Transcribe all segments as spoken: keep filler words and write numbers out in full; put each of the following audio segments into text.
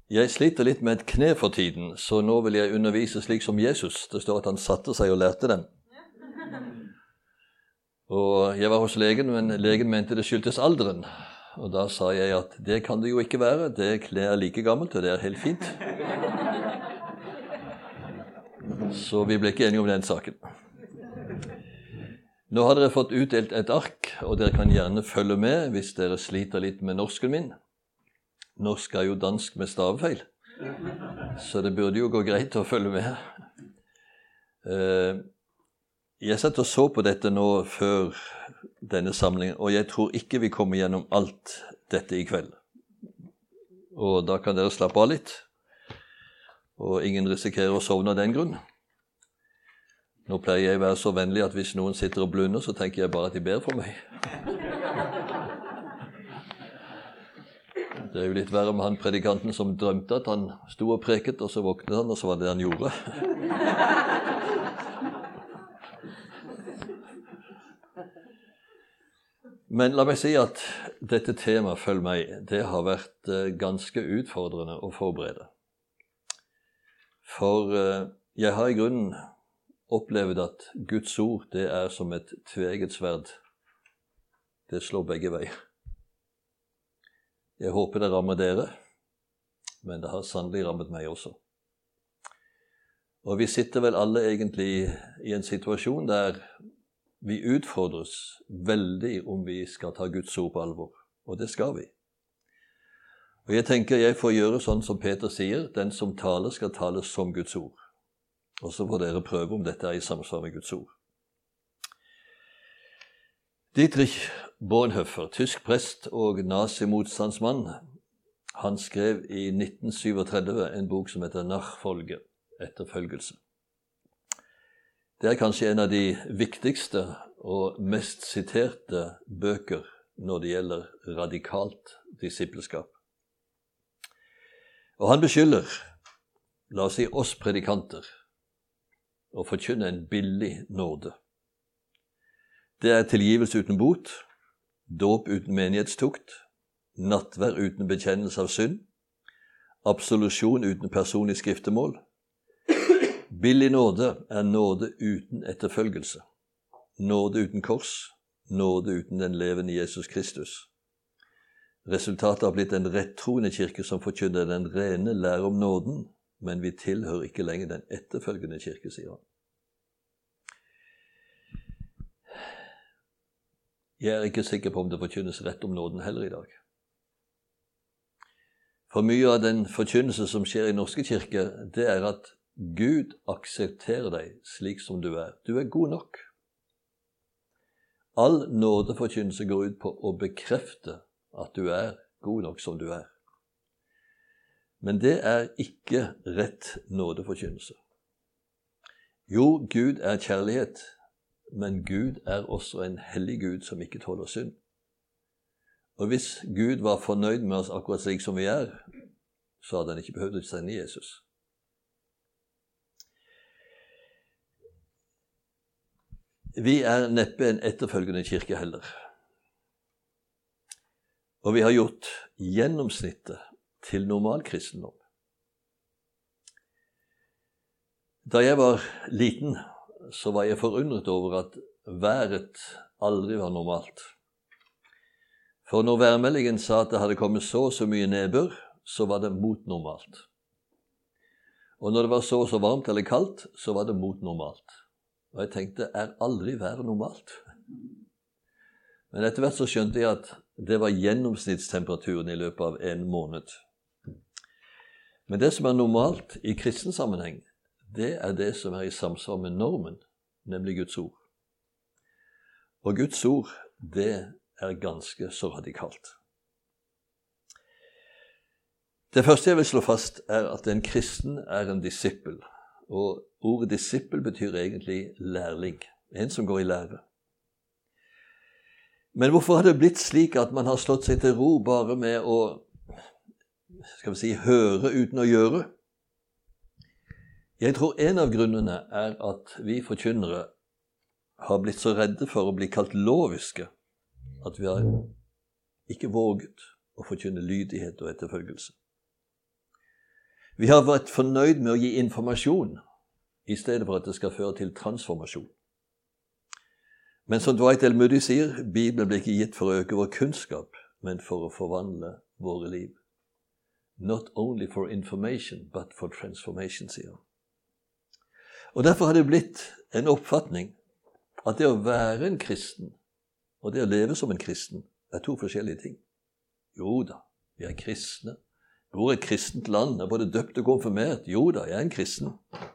Jeg sliter litt med et kne for tiden, så nå vil jeg undervise slik som Jesus. Det står at han satte seg og lærte dem. Og jeg var hos legen, men legen mente det skyldtes alderen. Og da sa jeg at det kan det jo ikke være, det kne er like gammelt, og det er helt fint. Så vi ble ikke enige om den saken. Nå har dere fått utdelt et ark, og dere kan gjerne følge med hvis dere sliter litt med norsken min. Norsk er jo dansk med stavefeil, så det burde jo gå greit å følge med. Jeg satt og så på dette nå før denne samlingen, og jeg tror ikke vi kommer gjennom alt dette i kveld. Og da kan dere slappe av litt, og ingen risikerer å sovne av den grunn. Nå pleier jeg å være så vennlig at hvis noen sitter og blunder, så tenker jeg bare at de ber for meg. Det er jo litt verre med han predikanten som drømte at han sto og preket, og så våknet han, og så var det han gjorde. Men la meg si at dette temaet, følg meg, det har vært ganske utfordrende å forberede. For jeg har i grunnen opplevd at Guds ord, det er som et tveegget sverd. Det slår begge veier. Jeg håper det rammer dere, men det har sannelig rammet meg også. Og vi sitter vel alle egentlig i en situasjon der vi utfordres veldig om vi skal ta Guds ord på alvor, og det skal vi. Og jeg tenker jeg får gjøre sånn som Peter sier, den som taler skal tale som Guds ord. Og så får dere prøve om dette er i samsvar med Guds ord. Dietrich Bonhoeffer, tysk prest og nazimotstandsmann, han skrev i nitten syttisju en bok som heter Nachfolge, etterfølgelse. Det er kanskje en av de viktigste og mest siterte bøker når det gjelder radikalt disippelskap. Og han beskylder, la oss si oss predikanter, å forkynne en billig nåde. Det er tilgivelse uten bot, dåp uten menighetstukt, nattvær uten bekjennelse av synd, absolusjon uten personlig skriftemål. Billig nåde er nåde uten etterfølgelse, nåde uten kors, nåde uten den levende Jesus Kristus. Resultatet har blitt en rettroende kirke som forkynner den rene lære om nåden, men vi tilhører ikke lenger den etterfølgende kirke, sier han. Jeg er ikke sikker på om det forkynnes rett om nåden heller i dag. For mye av den forkynnelse som skjer i norske kirke, det er at Gud aksepterer deg slik som du er. Du er god nok. All nådeforkynnelse går ut på å bekrefte at du er god nok som du er. Men det er ikke rett nådeforkynnelse. Jo, Gud er kjærlighet, men Gud er også en hellig Gud som ikke tåler synd. Og hvis Gud var fornøyd med oss akkurat slik som vi er, så hadde han ikke behøvd å sende Jesus. Vi er neppe en etterfølgende kirke heller. Og vi har gjort gjennomsnittet til normal kristendom. Da jeg var liten, så var jeg forundret over at været aldri var normalt. For når værmeldingen sa at det hadde kommet så og så mye nedbør, så var det mot normalt. Og når det var så og så varmt eller kaldt, så var det mot normalt. Og jeg tenkte, er aldri været normalt? Men etter hvert så skjønte jeg at det var gjennomsnittstemperaturen i løpet av en måned. Men det som er normalt i kristen sammenheng, det er det som er i samsvar med normen, nemlig Guds ord. Og Guds ord, det er ganske så radikalt. Det første jeg vil slå fast er at en kristen er en disippel. Og ordet disippel betyr egentlig lærling, en som går i lære. Men hvorfor har det blitt slik at man har slått seg til ro bare med å, skal vi si, høre uten å gjøre? Jeg tror en av grunnene er at vi forkynnere har blitt så redde for å bli kalt loviske, at vi har ikke våget å forkynne lydighet og etterfølgelse. Vi har vært fornøyd med å gi informasjon, i stedet for at det skal føre til transformasjon. Men som Dwight L. Moody sier, Bibelen ble ikke gitt for å øke vår kunnskap, men for å forvandle våre liv. Not only for information, but for transformation, sier han. Og derfor har det blitt en oppfatning at det å være en kristen, og det å leve som en kristen, er to forskjellige ting. Jo da, vi er kristne. Vi bor i et kristent land, er både døpt og konfirmert. Jo da, jeg er en kristen.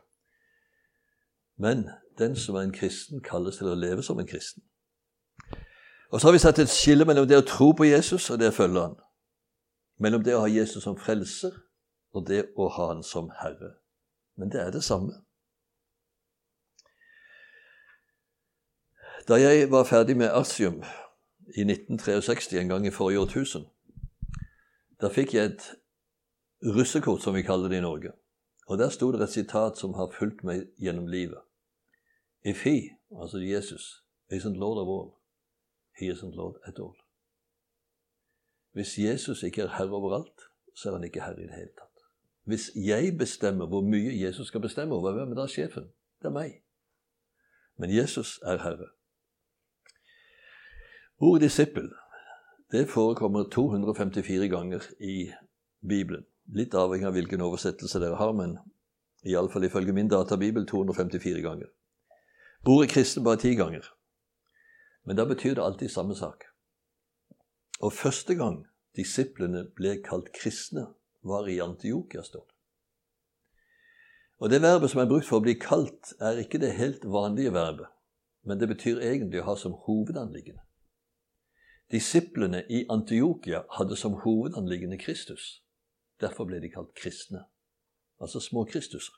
Men den som er en kristen kalles til å leve som en kristen. Og så har vi satt et skille mellom det å tro på Jesus og det å følge han. Mellom det å ha Jesus som frelser og det å ha han som Herre. Men det er det samme. Da jeg var ferdig med Artium i nitten sekstitre, en gang i forrige årtusen, da fikk jeg et russekort, som vi kaller det i Norge. Og der stod det et sitat som har fulgt meg gjennom livet. If he, altså Jesus, isn't Lord of all, he isn't Lord at all. Hvis Jesus ikke er herre overalt, så er han ikke herre i det hele tatt. Hvis jeg bestemmer hvor mye Jesus skal bestemme over, hvem er da sjefen? Det er meg. Men Jesus er herre. Ordet disippel, det forekommer to hundre og femtifire ganger i Bibelen. Litt avhengig av hvilken oversettelse dere har, men i alle fall ifølge min databibel to hundre og femtifire ganger. Ordet kristen bare ti ganger. Men da betyr det alltid samme sak. Og første gang disiplene ble kalt kristne, var i Antiokia, står det. Og det verbet som er brukt for å bli kalt, er ikke det helt vanlige verbet, men det betyr egentlig å ha som hovedanliggende. Disiplene i Antiokia hadde som hovedanliggende Kristus. Derfor ble de kalt kristne, altså små Kristuser.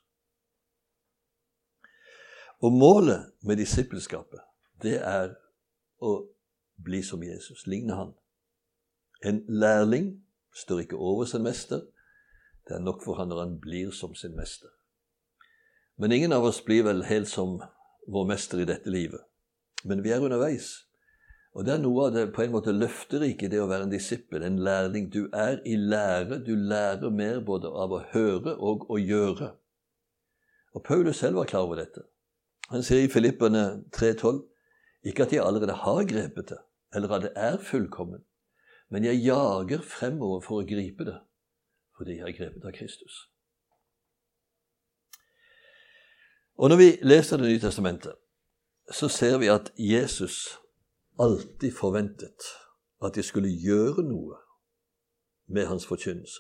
Og målet med disippelskapet, det er å bli som Jesus, ligne han. En lærling står ikke over sin mester, det er nok for han når han blir som sin mester. Men ingen av oss blir vel helt som vår mester i dette livet. Men vi er underveis. Og det er noe av det på en måte løfterike, det å være en disippel, en lærling. Du er i lære, du lærer mer både av å høre og å gjøre. Og Paulus selv var klar over dette. Han sier i Filipperne tre tolv, ikke at jeg allerede har grepet det, eller at det er fullkommen, men jeg jager fremover for å gripe det, fordi jeg har grepet av Kristus. Og når vi leser Det nye testamentet, så ser vi at Jesus alltid forventet at de skulle gjøre noe med hans forkynnelse.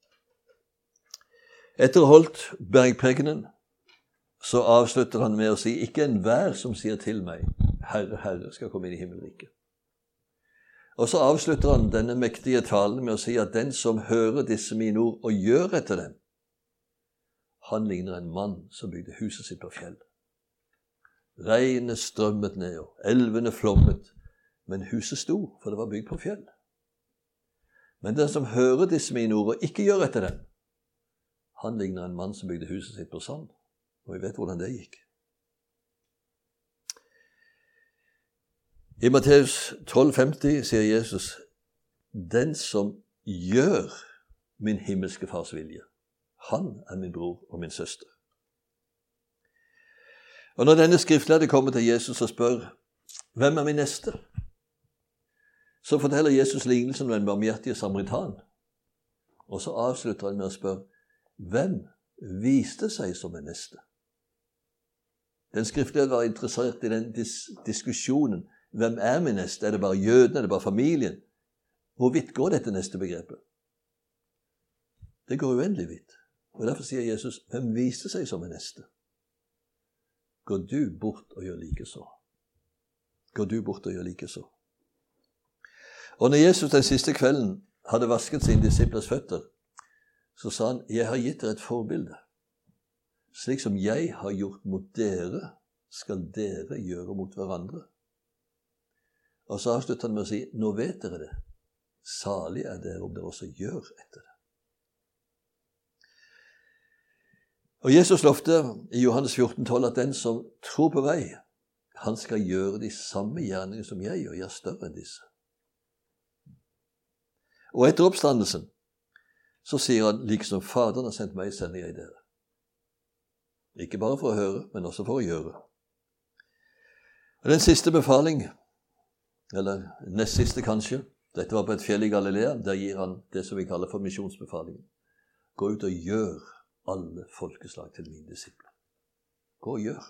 Etter å ha holdt bergprekenen, så avslutter han med å si, ikke enhver som sier til meg, Herre, Herre, skal komme inn i himmelriket. Og så avslutter han denne mektige talen med å si at den som hører disse mine ord og gjør etter dem, han ligner en mann som bygde huset sitt på fjell. Regnet strømmet ned, og elvene flommet, men huset sto, for det var bygd på fjell. Men den som hører disse mine ord og ikke gjør etter dem, han ligner en mann som bygde huset sitt på sand. Og vi vet hvordan det gikk. I Matteus tolv femti sier Jesus, den som gjør min himmelske fars vilje, han er min bror og min søster. Og når denne skriftlærde kommer til Jesus og spør, hvem er min neste? Så forteller Jesus lignelsen om den barmhjertige samaritan. Og så avslutter han med å spørre, hvem viste seg som en neste? Den skriftlærde var interessert i den dis- diskusjonen. Hvem er min neste? Er det bare jødene? Er det bare familien? Hvor vidt går dette neste begrepet? Det går uendelig vidt. Og derfor sier Jesus, hvem viste seg som en neste? Går du bort og gjør like så? Går du bort og gjør like så? Og når Jesus den siste kvelden hadde vasket sine disiplers føtter, så sa han, jeg har gitt dere et forbilde. Slik som jeg har gjort mot dere, skal dere gjøre mot hverandre. Og så avslutter han med å si, nå vet dere det. Salig er dere om dere også gjør etter det. Og Jesus lovte i Johannes fjorten tolv at den som tror på vei, han skal gjøre de samme gjerninger som jeg gjør, jeg er større enn disse. Og etter oppstandelsen, så sier han, liksom Faderen har sendt meg, sender jeg dere. Ikke bare for å høre, men også for å gjøre. Og den siste befaling, eller nest siste kanskje, dette var på et fjell i Galilea, der gir han det som vi kaller for misjonsbefalingen. Gå ut og gjør alle folkeslag til mine disipler. Gå og gjør.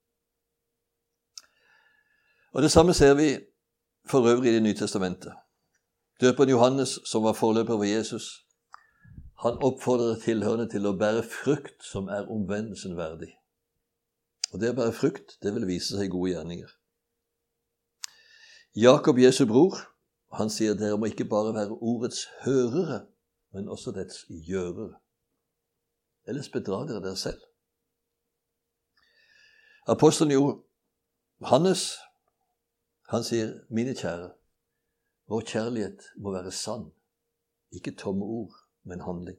Og det samme ser vi for øvrig i Det nye testamentet. Døperen Johannes, som var forløper for Jesus, han oppfordrer tilhørende til å bære frukt som er omvendelsen verdig. Og det å bære frukt, det vil vise seg gode gjerninger. Jakob, Jesu bror, han sier dere må ikke bare være ordets hørere, men også dets gjørere. Ellers bedrar dere dere selv. Apostelen Johannes, han sier, mine kjære, vår kjærlighet må være sann, ikke tomme ord, men handling.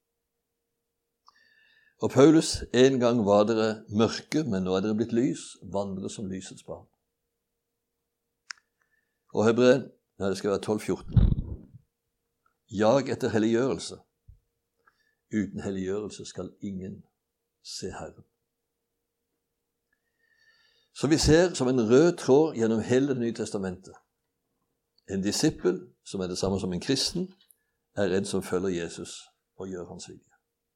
Og Paulus, en gang var dere mørke, men nå er dere blitt lys, vandre som lysets barn. Og Hebreer, ja, det skal være tolv fjorten. Jag etter helliggjørelse. Uten helliggjørelse skal ingen se Herren. Så vi ser som en rød tråd gjennom hele Det nye testamentet. En disippel, som er det samme som en kristen, er en som følger Jesus og gjør hans vilje.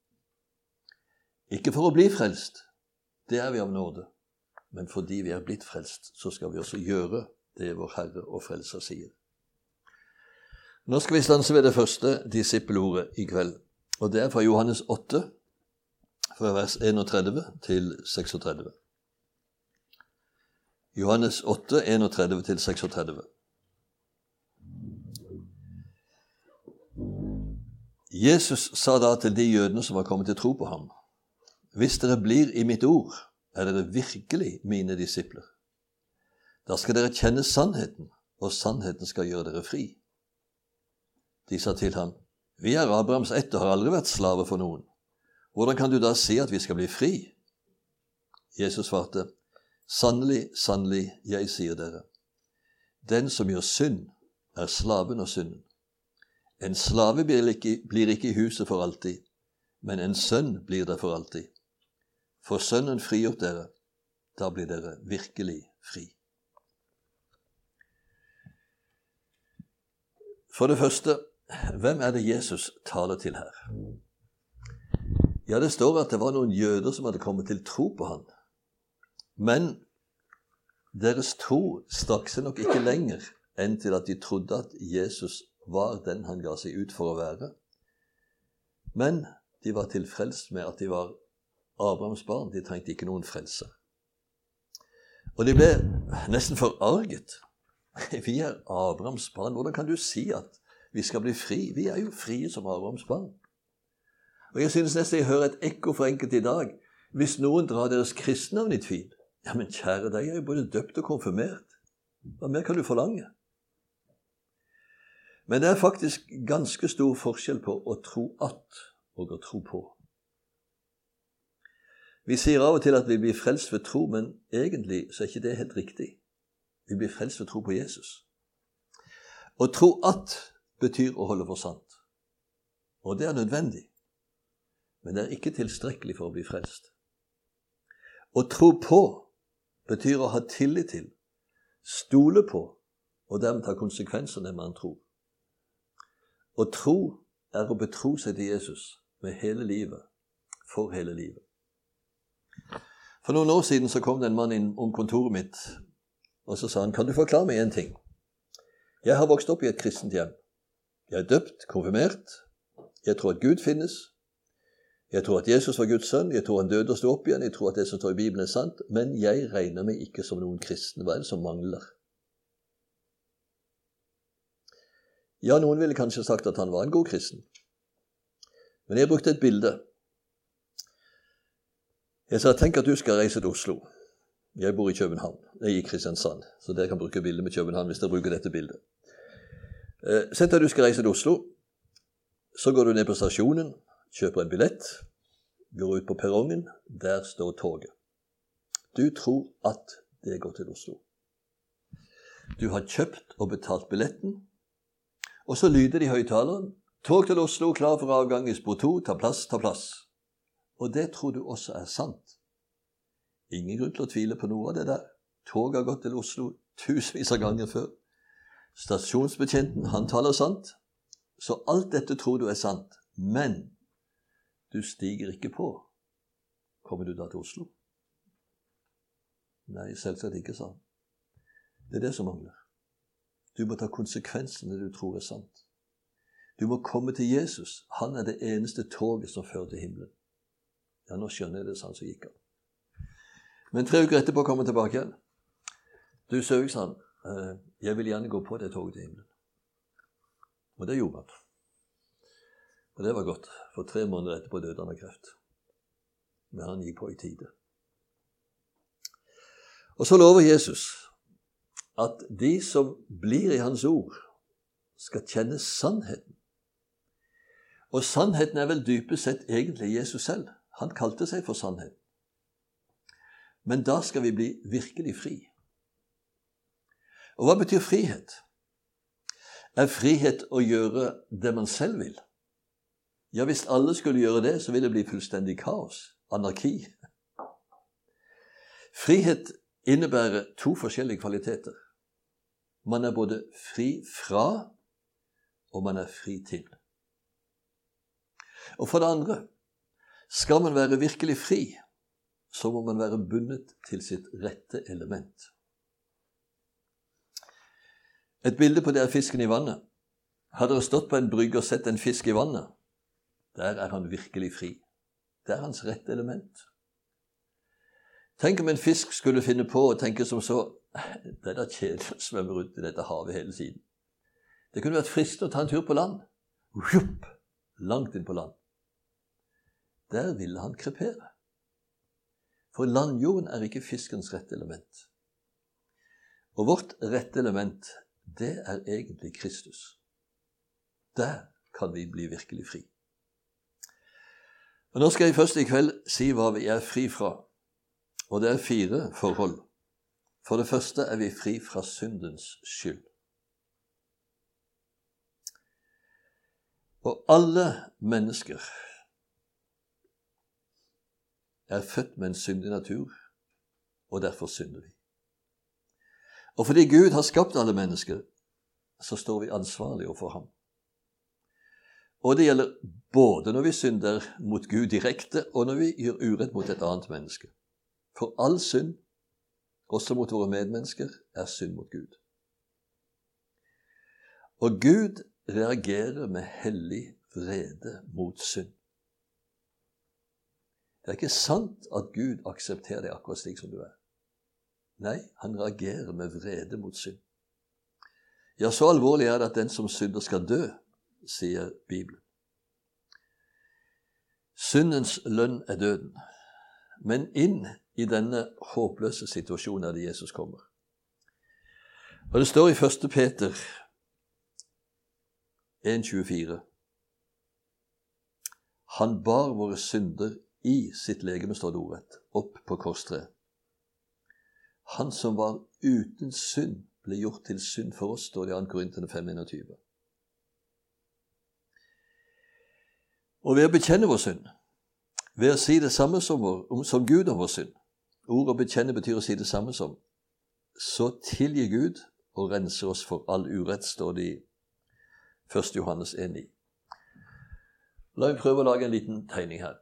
Ikke for å bli frelst, det er vi av nåde, men fordi vi er blitt frelst, så skal vi også gjøre det vår Herre og Frelser sier. Nå skal vi stanse ved det første disippelordet i kveld, og det er fra Johannes åtte, fra vers enogtredve til seksogtredve. Johannes åtte, enogtredve til seksogtredve. Jesus sa da til de jødene som var kommet til tro på ham, hvis dere blir i mitt ord, er dere virkelig mine disipler. Da skal dere kjenne sannheten, og sannheten skal gjøre dere fri. De sa til ham, vi er Abrahams ett og har aldri vært slave for noen. Hvordan kan du da si at vi skal bli fri? Jesus svarte, sannelig, sannelig, jeg sier dere, den som gjør synd, er slaven av synden. En slave blir ikke, blir ikke i huset for alltid, men en sønn blir der for alltid. For sønnen frigjort dere, da blir dere virkelig fri. For det første, hvem er det Jesus taler til her? Ja, det står at det var noen jøder som hadde kommet til tro på han. Men deres tro stakk seg nok ikke lenger enn til at de trodde at Jesus var den han ga seg ut for å være. Men de var tilfreds med at de var Abrahams barn. De trengte ikke noen frelse. Og de ble nesten forarget. Vi er Abrahams barn. Hvordan kan du si at vi skal bli fri? Vi er jo frie som Abrahams barn. Og jeg synes nesten jeg hører et ekko for enkelt i dag. Hvis noen drar deres kristnavn i tvil, ja, men kjære deg, jeg er jo både døpt og konfirmert. Hva mer kan du forlange? Men det er faktisk ganske stor forskjell på å tro at og å tro på. Vi sier av og til at vi blir frelst ved tro, men egentlig så er ikke det helt riktig. Vi blir frelst ved tro på Jesus. Å tro at betyr å holde for sant. Og det er nødvendig. Men det er ikke tilstrekkelig for å bli frelst. Å tro på betyr å ha tillit til, stole på, og dermed ta konsekvensene av det man tror. Å tro er å betro seg til Jesus med hele livet, for hele livet. For noen år siden så kom det en mann inn om kontoret mitt, og så sa han, kan du forklare meg en ting? Jeg har vokst opp i et kristent hjem. Jeg er døpt, konfirmert. Jeg tror at Gud finnes. Jeg tror at Jesus var Guds sønn. Jeg tror han døde og stod opp igjen. Jeg tror at det som står i Bibelen er sant. Men jeg regner meg ikke som noen kristen. Hva er det som mangler? Ja, noen ville kanskje sagt at han var en god kristen. Men jeg brukte et bilde. Jeg sa, tenk at du skal reise til Oslo. Jeg bor i København. Jeg er i Kristiansand. Så dere kan bruke bildet med København hvis dere bruker dette bildet. Sett at du skal reise til Oslo. Så går du ned på stasjonen, kjøper en billett, går ut på perrongen. Der står toget. Du tror at det går til Oslo. Du har kjøpt og betalt billetten. Og så lyder det i høyttaleren, Tog til Oslo, klar for avgang i spor to, ta plass, ta plass. Og det tror du også er sant. Ingen grunn til å tvile på noe av det der. Toget har gått til Oslo tusenvis av ganger før. Stasjonsbetjenten, han taler sant. Så alt dette tror du er sant. Men du stiger ikke på. Kommer du da til Oslo? Nei, selvsagt ikke, sa han. Det er det som mangler. Du må ta konsekvensene du tror er sant. Du må komme til Jesus. Han er det eneste toget som fører til himmelen. Ja, nå skjønner jeg det, sa han, så gikk han. Men tre uker etterpå kom han tilbake igjen. Du søk, sa han, jeg vil gjerne gå på det toget til himmelen. Og det gjorde han. Og det var godt, for tre måneder etterpå døde han av kreft. Men han gikk på i tide. Og så lover Jesus at de som blir i hans ord, skal kjenne sannheten. Og sannheten er vel dypest sett egentlig Jesus selv. Han kalte seg for sannheten. Men da skal vi bli virkelig fri. Og hva betyr frihet? Er frihet å gjøre det man selv vil? Ja, hvis alle skulle gjøre det, så ville det bli fullstendig kaos, anarki. Frihet innebærer to forskjellige kvaliteter. Man er både fri fra, og man er fri til. Og for det andre, skal man være virkelig fri, så må man være bundet til sitt rette element. Et bilde på det er fisken i vannet. Hadde dere stått på en brygge og sett en fisk i vannet, der er han virkelig fri. Det er hans rette element. Tenk om en fisk skulle finne på å tenke som så, det er da kjedelig å svømme rundt i dette havet hele tiden. Det kunne vært fristende å ta en tur på land. Jupp, langt inn på land. Der ville han krepere. For landjorden er ikke fiskens rette element. Og vårt rette element, det er egentlig Kristus. Der kan vi bli virkelig fri. Og nå skal jeg først i kveld si hva vi er fri fra. Og det er fire forhold. For det første er vi fri fra syndens skyld. Og alle mennesker er født med en syndig natur, og derfor synder vi. Og fordi Gud har skapt alle mennesker, så står vi ansvarlige overfor ham. Og det gjelder både når vi synder mot Gud direkte, og når vi gjør urett mot et annet menneske. For all synd, også mot våre medmennesker, er synd mot Gud. Og Gud reagerer med hellig vrede mot synd. Det er ikke sant at Gud aksepterer deg akkurat slik som du er. Nei, han reagerer med vrede mot synd. Ja, så alvorlig er det at den som synder skal dø, sier Bibelen. Syndens lønn er døden. Men inn i denne håpløse situasjonen er det Jesus kommer. Og det står i første Peter en tjuefire. Han bar våre synder i sitt legeme, står det ordet, opp på korstreet. Han som var uten synd, ble gjort til synd for oss, står det i andre Korinterne fem enogtyve. Og ved å bekjenne vår synd, ved å si det samme som, vår, som Gud om vår synd, ord å bekjenne betyr å si det samme som, så tilgir Gud og renser oss for all urett, står det i første Johannes en ni. La meg prøve å lage en liten tegning her.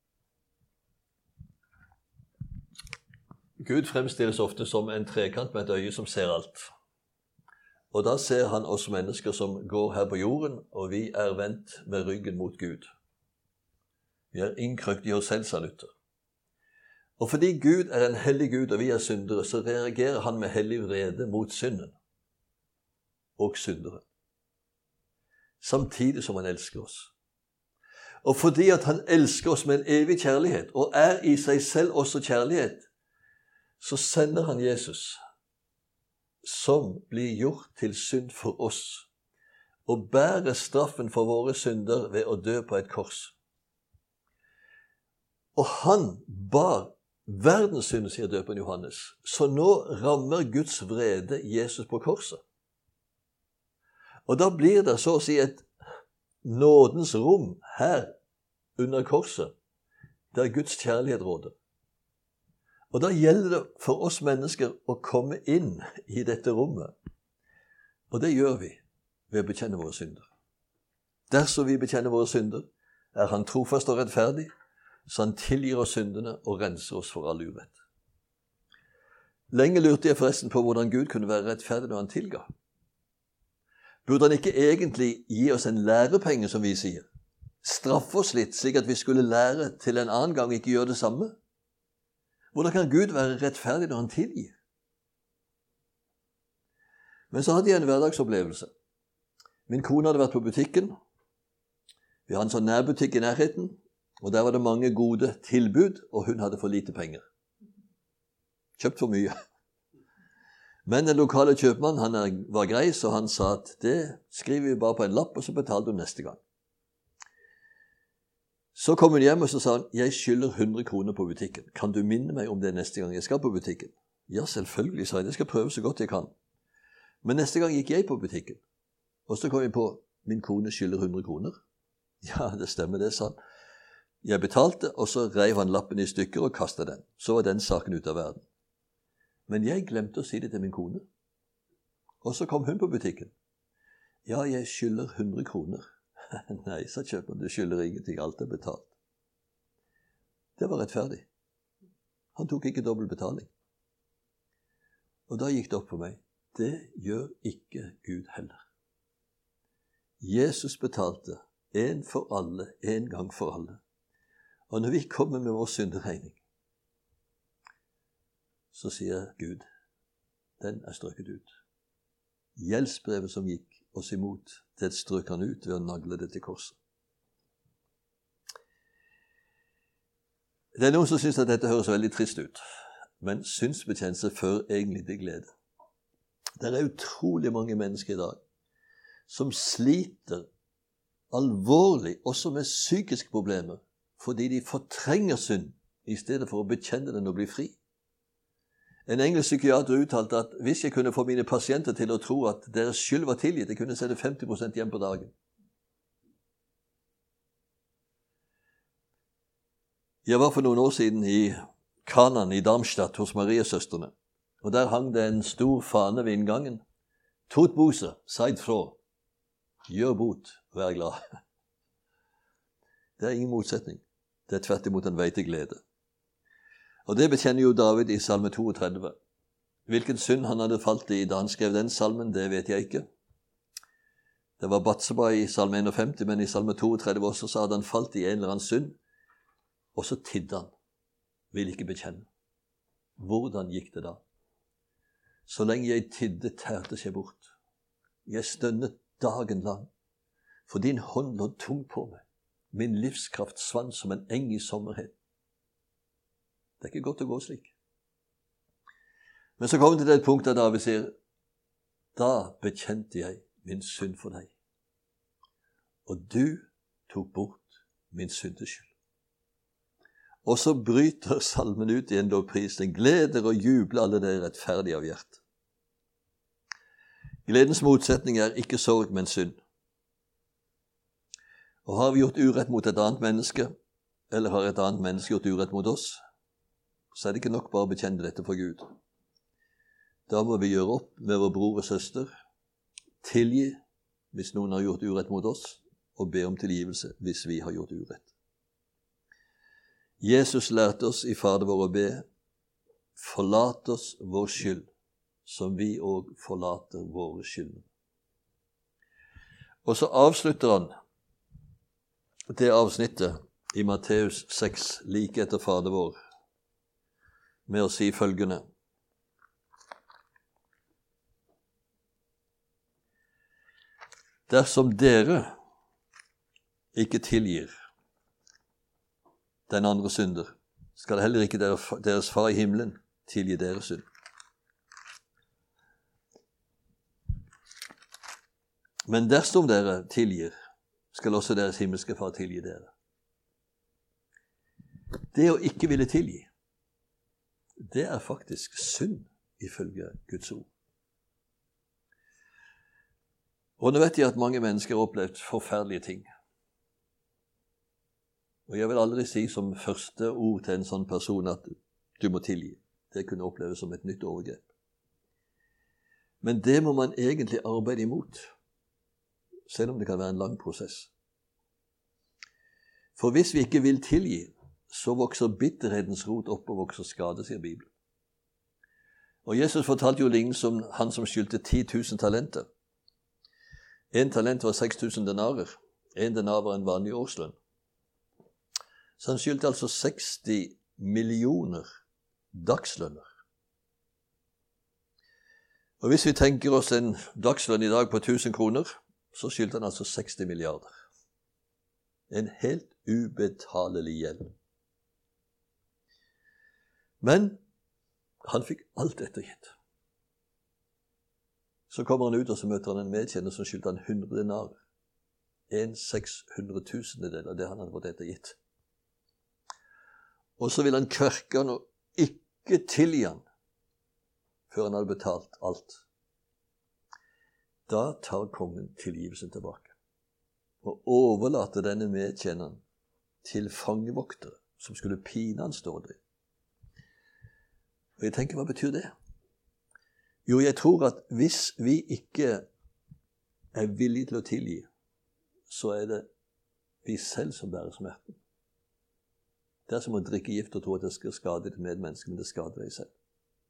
Gud fremstilles ofte som en trekant med et øye som ser alt. Og da ser han oss mennesker som går her på jorden, og vi er vendt med ryggen mot Gud. Vi er innkrøkt i oss selv, sa Luther. Og fordi Gud er en hellig Gud, og vi er syndere, så reagerer han med hellig vrede mot synden og syndere. Samtidig som han elsker oss. Og fordi at han elsker oss med en evig kjærlighet, og er i seg selv også kjærlighet, så sender han Jesus, som blir gjort til synd for oss, og bærer straffen for våre synder ved å dø på et kors. Og han bar verdens synder, sier døperen Johannes, så nå rammer Guds vrede Jesus på korset. Og da blir det så å si et nådens rom her under korset, der Guds kjærlighet råder. Og da gjelder det for oss mennesker å komme inn i dette rommet. Og det gjør vi ved å bekjenne våre synder. Dersom vi bekjenner våre synder, er han trofast og rettferdig, så han tilgir oss syndene og renser oss for all urett. Lenge lurte jeg forresten på hvordan Gud kunne være rettferdig når han tilga. Burde han ikke egentlig gi oss en lærepenge, som vi sier? Straffe oss litt, slik at vi skulle lære til en annen gang ikke gjøre det samme? Hvordan kan Gud være rettferdig når han tilgir? Men så hadde jeg en hverdagsopplevelse. Min kone hadde vært på butikken. Vi hadde en sånn nærbutikk i nærheten, og der var det mange gode tilbud, og hun hadde for lite penger. Kjøpt for mye. Men den lokale kjøpmannen, han var grei, så han sa at det skriver vi bare på en lapp, og så betalte hun neste gang. Så kom hun hjem, og så sa han, jeg skylder hundre kroner på butikken. Kan du minne meg om det neste gang jeg skal på butikken? Ja, selvfølgelig, sa jeg. Jeg skal prøve så godt jeg kan. Men neste gang gikk jeg på butikken, og så kom jeg på, min kone skylder hundre kroner. Ja, det stemmer det, sa han. Jeg betalte, og så reiv han lappen i stykker og kastet den. Så var den saken ut av verden. Men jeg glemte å si det til min kone. Og så kom hun på butikken. Ja, jeg skylder hundre kroner. Nei, sa kjøperen, du skylder ingenting, alt er betalt. Det var rettferdig. Han tok ikke dobbelt betaling. Og da gikk det opp for meg. Det gjør ikke Gud heller. Jesus betalte en for alle, en gang for alle. Og når vi kommer med vår synderegning, så sier Gud, den er strøket ut. Gjeldsbrevet som gikk oss imot, det strøk han ut ved å nagle det til korset. Det er noen som synes at dette høres veldig trist ut, men synsbekjennelse fører egentlig til glede. Det er utrolig mange mennesker i dag som sliter alvorlig, også med psykiske problemer, fordi de fortrenger synd i stedet for å bekjenne den og bli fri. En engelsk psykiater uttalte at hvis jeg kunne få mine pasienter til å tro at deres skyld var tilgitt, jeg kunne sette femti prosent hjem på dagen. Jeg var for noen år siden i Kanan i Darmstadt hos Mariesøstrene, og der hang det en stor fane ved inngangen. Tot Bose, seid fra, gjør bot, vær glad. Det er ingen motsetning. Det er tvert imot en vei til glede. Og det bekjenner jo David i salme trettito. Hvilken synd han hadde falt i da han skrev den salmen, det vet jeg ikke. Det var Batseba i salme femtién, men i salme trettito også så hadde han falt i en eller annen synd, og så tidde han. Vil ikke bekjenne. Hvordan gikk det da? Så lenge jeg tidde, tærte seg bort. Jeg stønnet dagen lang, for din hånd lå tung på meg. Min livskraft svant som en eng i sommerhet. Det er ikke godt å gå slik. Men så kom det til et punkt der David sier, da bekjente jeg min synd for deg, og du tok bort min syndeskyld. Og så bryter salmen ut i en lovpris, den gleder og jubler alle det rettferdige av hjerte. Gledens motsetning er ikke sorg, men synd. Og har vi gjort urett mot et annet menneske, eller har et annet menneske gjort urett mot oss, så er det ikke nok bare å bekjenne dette for Gud. Da må vi gjøre opp med vår bror og søster, tilgi hvis noen har gjort urett mot oss, og be om tilgivelse hvis vi har gjort urett. Jesus lærte oss i Fader vår å be, forlat oss vår skyld, som vi også forlater våre skyld. Og så avslutter han det avsnittet i Matteus seks, like etter Fader vår, med å si følgende. Dersom dere ikke tilgir den andre synder, skal heller ikke deres far i himmelen tilgi deres synd. Men dersom dere tilgir, skal også deres himmelske far tilgi dere. Det å ikke ville tilgi, det er faktisk synd ifølge Guds ord. Og nå vet jeg at mange mennesker har opplevd forferdelige ting. Og jeg vil aldri si som første ord til en sånn person at du må tilgi. Det kunne oppleves som et nytt overgrep. Men det må man egentlig arbeide imot, selv om det kan være en lang prosess. For hvis vi ikke vil tilgi, så vokser bitterhetens rot opp og vokser skade, sier Bibelen. Og Jesus fortalte jo lignende om han som skyldte ti tusen talenter. En talent var seks tusen denarer. En denar var en vanlig årslønn. Så han skyldte altså seksti millioner dagslønner. Og hvis vi tenker oss en dagslønn i dag på tusen kroner, så skyldte han altså seksti milliarder. En helt ubetalelig gjeld. Men han fikk alt ettergitt. Så kommer han ut, og så møter han en medkjenner som skyldte han hundre denarer. En sekshundretusendedel av det han hadde fått ettergitt. Og så vil han kverke han og ikke tilgi han før han hadde betalt alt. Da tar kongen tilgivelsen tilbake og overlater denne medkjenneren til fangevoktere som skulle pine han stålig. Og jeg tenker, hva betyr det? Jo, jeg tror at hvis vi ikke er villige til å tilgi, så er det vi selv som bærer smerten. Det er som å drikke gift og tro at det skal skade ditt medmenneske, men det skader deg selv.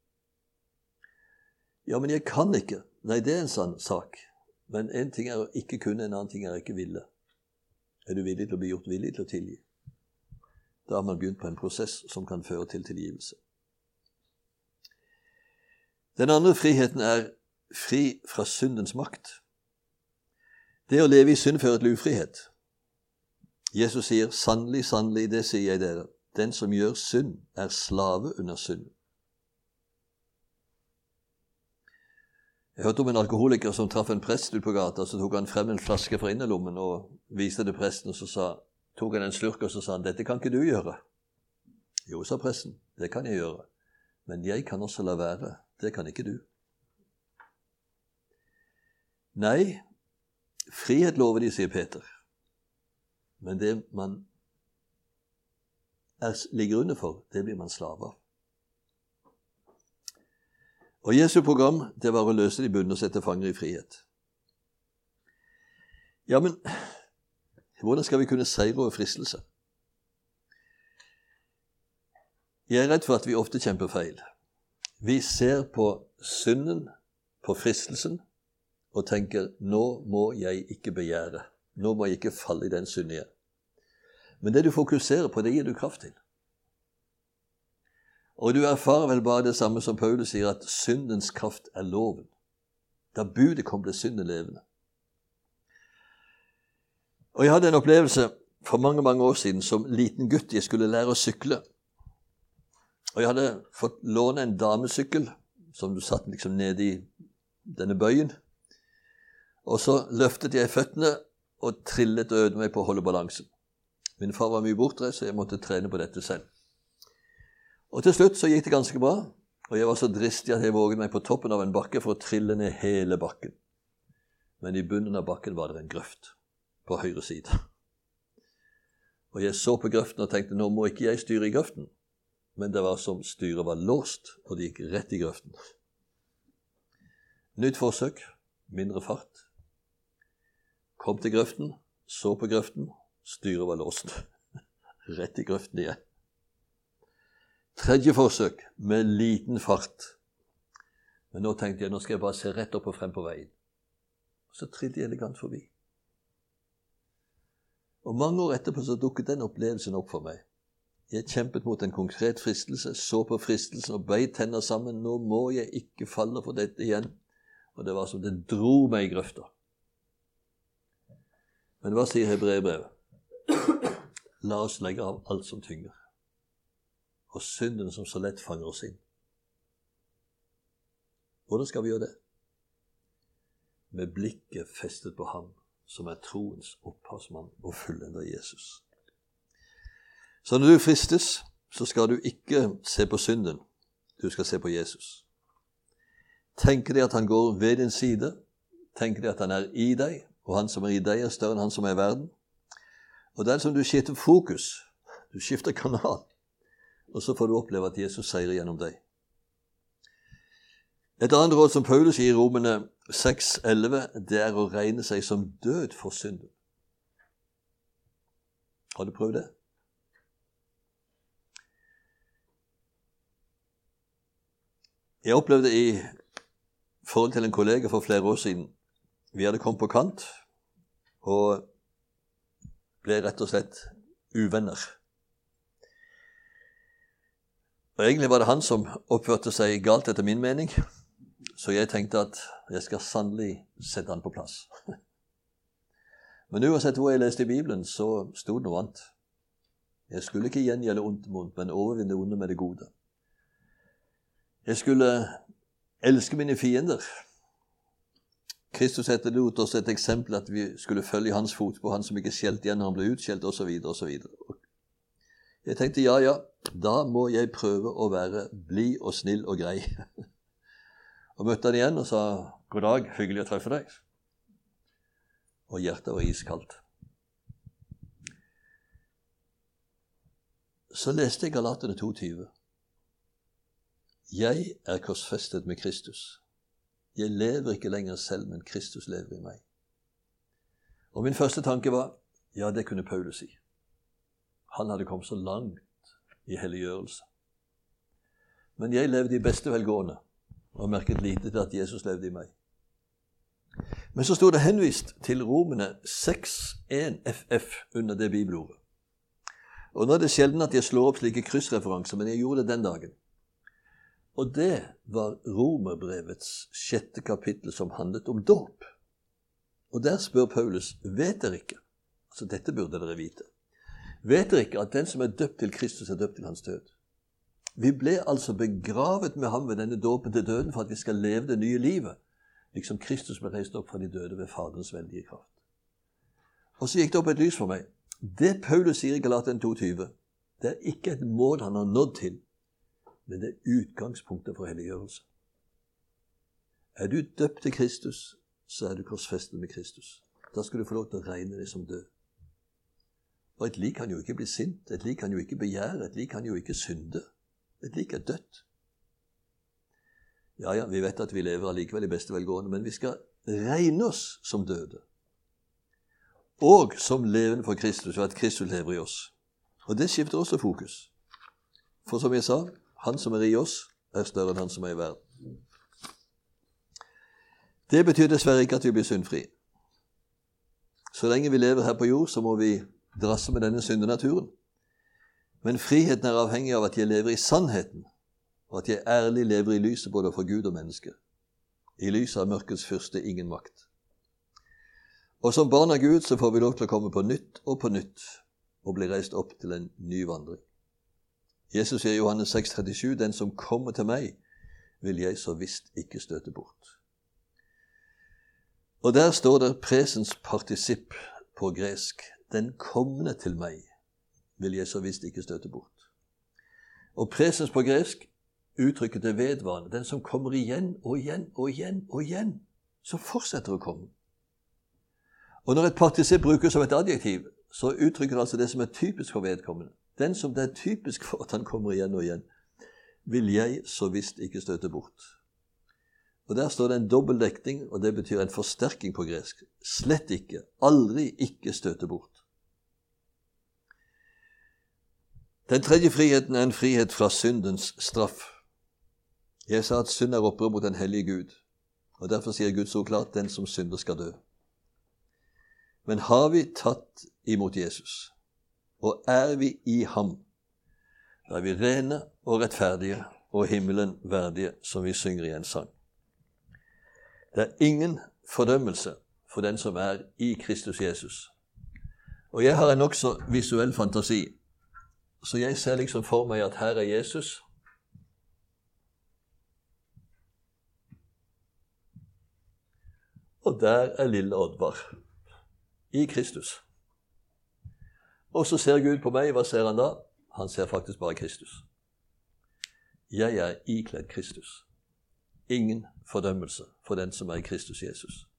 Ja, men jeg kan ikke. Nei, det er en sann sak. Men en ting er å ikke kunne, en annen ting er å ikke ville. Er du villig til å bli gjort villig til å tilgi? Da har man begynt på en prosess som kan føre til tilgivelse. Den andre friheten er fri fra syndens makt. Det å leve i synd fører til ufrihet. Jesus sier, sannelig, sannelig, det sier jeg dere, den som gjør synd er slave under synd. Jeg hørte om en alkoholiker som traff en prest ut på gata, så tok han frem en flaske fra innerlommen og viste det presten, og så sa, tok han en slurk og så sa han, dette kan ikke du gjøre. Jo, sa presten, det kan jeg gjøre, men jeg kan også la være, det kan ikke du. Nei, frihet lover de, sier Peter. Men det man er, ligger under for, det blir man slave av. Og Jesu program, det var å løse de bunne og sette fanger i frihet. Ja, men hvordan skal vi kunne seire over fristelse? Jeg er redd for at vi ofte kjemper feil. Vi ser på synden, på fristelsen, og tenker, nå må jeg ikke begjære. Nå må jeg ikke falle i den synden igjen. Men det du fokuserer på, det gir du kraft til. Og du erfarer vel bare det samme som Paulus sier, at syndens kraft er loven. Da budet kom, ble synden levende. Og jeg hadde en opplevelse for mange, mange år siden som liten gutt. Jeg skulle lære å sykle. Og jeg hadde fått låne en damesykkel, som du satt liksom nede i denne bøyen. Og så løftet jeg føttene og trillet og øvde meg på å holde balansen. Min far var mye bortreist, så jeg måtte trene på dette selv. Og til slutt så gikk det ganske bra, og jeg var så dristig at jeg våget meg på toppen av en bakke for å trille ned hele bakken. Men i bunnen av bakken var det en grøft på høyre side. Og jeg så på grøften og tenkte, nå må ikke jeg styre i grøften. Men det var som styret var låst, og det gikk rett i grøften. Nytt forsøk, mindre fart. Kom til grøften, så på grøften, styret var låst. Rett i grøften igjen. Tredje forsøk, med liten fart. Men nå tenkte jeg, nå skal jeg bare se rett opp og frem på veien. Så trillte jeg elegant forbi. Og mange år etterpå så dukket den opplevelsen opp for meg. Jeg kjempet mot en konkret fristelse, så på fristelsen og beit tenner sammen. Nå må jeg ikke falle for dette igjen. Og det var som det dro meg i grøfta. Men hva sier Hebreerbrevet? La oss legge av alt som tynger, og synden som så lett fanger oss inn. Hvordan skal vi gjøre det? Med blikket festet på ham, som er troens opphavsmann og fullender Jesus. Så når du fristes, så skal du ikke se på synden, du skal se på Jesus. Tenker deg at han går ved din side, tenker deg at han er i deg, og han som er i deg er større enn han som er i verden. Og den som du skifter fokus, Du skifter kanal, og så får du oppleve at Jesus seirer gjennom deg. Et annet råd som Paulus gir i Romerne seks elleve, det er å regne seg som død for synden. Har du prøvd det? Jeg opplevde i forhold til en kollega for flere år siden. Vi hadde kommet på kant og ble rett og slett uvenner. Og egentlig var det han som oppførte seg galt etter min mening, så jeg tenkte at jeg skal sannelig sette han på plass. Men uansett hvor jeg leste i Bibelen, så stod det noe annet. Jeg skulle ikke gjengjelde ondt med ondt, men overvinne onde med det gode. Jeg skulle elske mine fiender. Kristus etterlot oss et eksempel at vi skulle følge hans fot på han som ikke skjelt igjen når han ble utskjelt, og så videre, og så videre. Jeg tenkte, ja, ja, da må jeg prøve å være blid og snill og grei. Og møtte han igjen og sa, god dag, hyggelig å treffe deg. Og hjertet var iskaldt. Så leste jeg Galaterne to tyve. Jeg er korsfestet med Kristus. Jeg lever ikke lenger selv, men Kristus lever i meg. Og min første tanke var, ja, det kunne Paulus si. Han hadde kommet så langt i helliggjørelse. Men jeg levde i beste velgående, og merket lite til at Jesus levde i meg. Men så stod det henvist til Romerne seks en F F under det bibelordet. Og nå er det sjelden at jeg slår opp slike kryssreferanser, men jeg gjorde det den dagen. Og det var Romerbrevets sjette kapittel som handlet om dåp. Og der spør Paulus, vet dere ikke? Altså dette burde dere vite. Vet dere ikke at den som er døpt til Kristus er døpt til hans død? Vi ble altså begravet med ham ved denne dåpen til døden for at vi skal leve det nye livet, liksom Kristus ble reist opp fra de døde ved Faderens veldige kraft. Og så gikk det opp et lys for meg. Det Paulus sier i Galaterne to tyve, det er ikke et mål han har nådd til, men det er utgangspunktet for helliggjørelse. Er du døpt til Kristus, så er du korsfestet med Kristus. Da skal du få lov til å regne deg som død. Og et lik kan jo ikke bli sint, et lik kan jo ikke begjære, et lik kan jo ikke synde. Et lik er dødt. Ja, ja, vi vet at vi lever allikevel i beste velgående, men vi skal regne oss som døde. Og som levende for Kristus, og at Kristus lever i oss. Og det skifter også fokus. For som jeg sa, han som er i oss, er større enn han som er i verden. Det betyr dessverre ikke at vi blir syndfri. Så lenge vi lever her på jord, så må vi drasse med denne syndenaturen. Men friheten er avhengig av at jeg lever i sannheten, og at jeg ærlig lever i lyset både for Gud og mennesker. I lyset av mørkets fyrste ingen makt. Og som barn av Gud så får vi lov til å komme på nytt og på nytt, og bli reist opp til en ny vandring. Jesus sier i Johannes seks trettisju, den som kommer til meg, vil jeg så visst ikke støte bort. Og der står det presens partisipp på gresk. Den kommende til meg vil jeg så visst ikke støte bort. Og presens på gresk uttrykket det vedvarende. Den som kommer igjen og igjen og igjen og igjen, så fortsetter å komme. Og når et partisipp brukes som et adjektiv, så uttrykker det altså det som er typisk for vedkommende. Den som det er typisk for at han kommer igjen og igjen, vil jeg så visst ikke støte bort. Og der står det en dobbeltdekning, og det betyr en forsterking på gresk. Slett ikke, aldri ikke støte bort. Den tredje friheten er en frihet fra syndens straff. Jeg sa at synd er opprør mot den hellige Gud, og derfor sier Gud så klart, den som synder skal dø. Men har vi tatt imot Jesus, og er vi i ham, da er vi rene og rettferdige og himmelen verdige, som vi synger i en sang. Det er ingen fordømmelse for den som er i Kristus Jesus. Og jeg har en også visuell fantasi, så jeg ser liksom for meg at her er Jesus, og der er lille Oddvar i Kristus. Og så ser Gud på meg, hva ser han da? Han ser faktisk bare Kristus. Jeg er ikledd Kristus. Ingen fordømmelse for den som er i Kristus Jesus.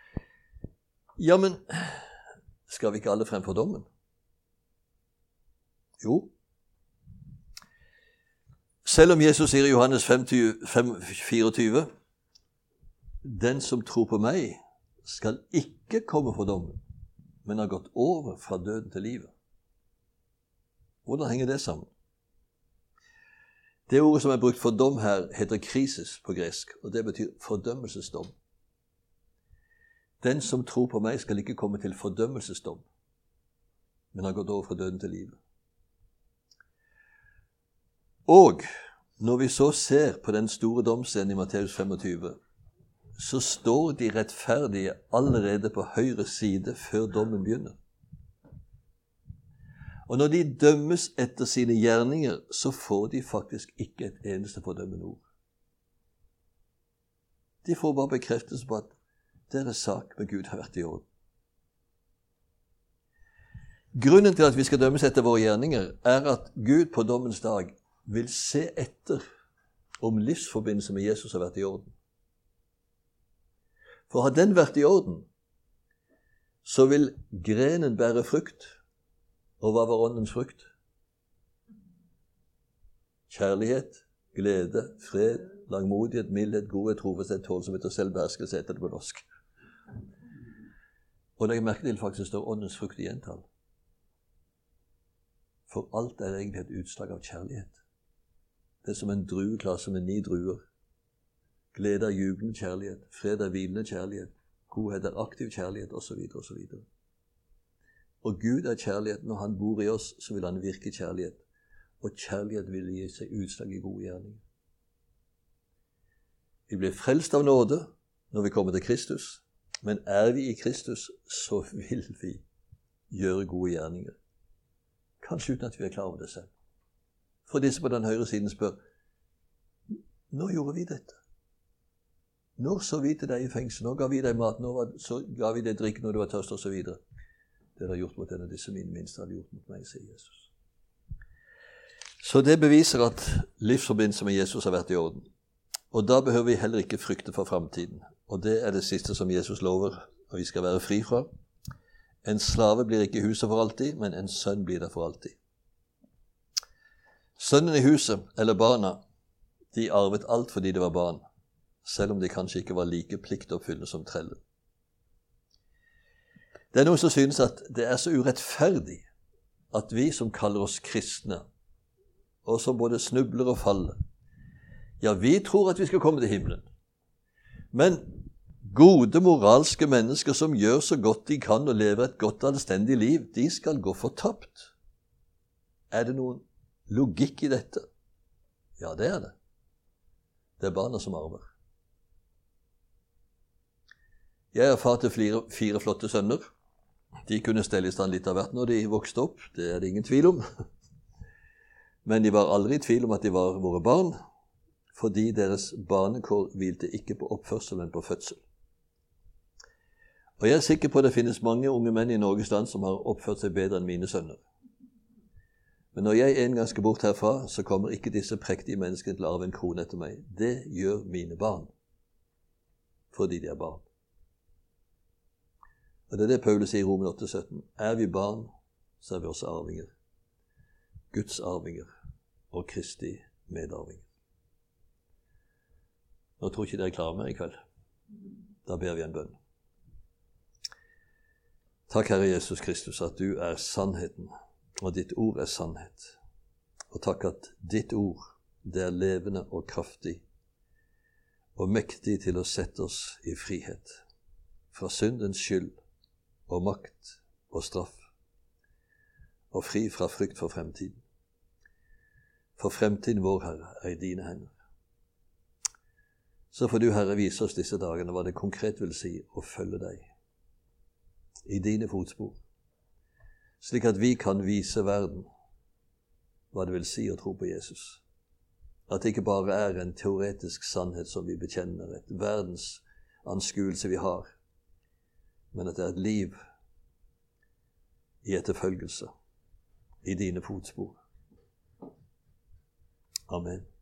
Ja, men skal vi ikke alle frem for dommen? Jo, selv om Jesus sier i Johannes fem fireogtyve, den som tror på meg, skal ikke komme for dommen, men har gått over fra døden til livet. Hvordan henger det sammen? Det ordet som er brukt for dom her, heter krisis på gresk, og det betyr fordømmelsesdom. Den som tror på meg, skal ikke komme til fordømmelsesdom, men har gått over fra døden til livet. Og når vi så ser på den store domsscenen i Matteus femogtyve, så står de rettferdige allerede på høyre side før dommen begynner. Og når de dømmes etter sine gjerninger, så får de faktisk ikke et eneste fordømmende ord. De får bare bekreftelse på at deres sak med Gud har vært i orden. Grunnen til at vi skal dømmes etter våre gjerninger, er at Gud på dommens dag vil se etter om livsforbindelse med Jesus har vært i orden. For har den vært i orden, så vil grenen bære frukt. Og hva var åndens frukt? Kjærlighet, glede, fred, langmodighet, mildhet, godhet, trofasthet, tålsomhet og selvbeherskelse heter det på norsk. Og legg merke til faktisk står åndens frukt i entall. For alt er egentlig et utslag av kjærlighet. Det er som en drueklasse med ni druer. Glede er jublende kjærlighet, fred er hvilende kjærlighet, godhet er aktiv kjærlighet, osv. osv. Og Gud er kjærlighet. Når han bor i oss, så vil han virke kjærlighet. Og kjærlighet vil gi seg utslag i gode gjerninger. Vi blir frelst av nåde når vi kommer til Kristus, men er vi i Kristus, så vil vi gjøre gode gjerninger. Kanskje uten at vi er klar over det selv. For disse på den høyre siden spør, når gjorde vi dette? Når så vi til deg i fengsel? Når ga vi deg mat? Når så ga vi deg drikk når du var tørst, og så videre? Det har gjort mot en av disse mine minste, har gjort mot meg, sier Jesus. Så det beviser at livsforbindelse med Jesus har vært i orden. Og da behøver vi heller ikke frykte for fremtiden. Og det er det siste som Jesus lover, og vi skal være fri fra. En slave blir ikke i huset for alltid, men en sønn blir der for alltid. Sønnen i huset, eller barna, de arvet alt fordi det var barn, selv om de kanskje ikke var like pliktoppfyllende som treller. Det er noen som synes at det er så urettferdig at vi som kaller oss kristne, og som både snubler og faller, ja, vi tror at vi skal komme til himmelen. Men gode moralske mennesker som gjør så godt de kan og lever et godt anstendig liv, de skal gå fortapt. Er det noen logikk i dette? Ja, det er det. Det er barna som arver. Jeg er far til fire, fire flotte sønner. De kunne stelle i stand litt av hvert når de vokste opp, det er det ingen tvil om. Men de var aldri i tvil om at de var våre barn, fordi deres barnekår hvilte ikke på oppførsel, men på fødsel. Og jeg er sikker på at det finnes mange unge menn i Norges land som har oppført seg bedre enn mine sønner. Men når jeg en gang skal bort herfra, så kommer ikke disse prektige menneskene til å arve en krone etter meg. Det gjør mine barn, fordi de er barn. Og det er det Paulus sier i Roman åtte sytten. Er vi barn, så er vi også arvinger. Guds arvinger og Kristi medarvinger. Nå tror ikke dere er klare mer i kveld. Da ber vi en bønn. Takk, Herre Jesus Kristus, at du er sannheten, og ditt ord er sannhet. Og takk at ditt ord, det er levende og kraftig, og mektig til å sette oss i frihet, fra syndens skyld, og makt og straff, og fri fra frykt for fremtiden. For fremtiden vår, Herre, er i dine hender. Så får du, Herre, vise oss disse dagene hva det konkret vil si å følge deg i dine fotspor, slik at vi kan vise verden hva det vil si å tro på Jesus. At det ikke bare er en teoretisk sannhet som vi bekjenner, et verdens anskuelse vi har, men at det er et liv i etterfølgelse i dine fotspor. Amen.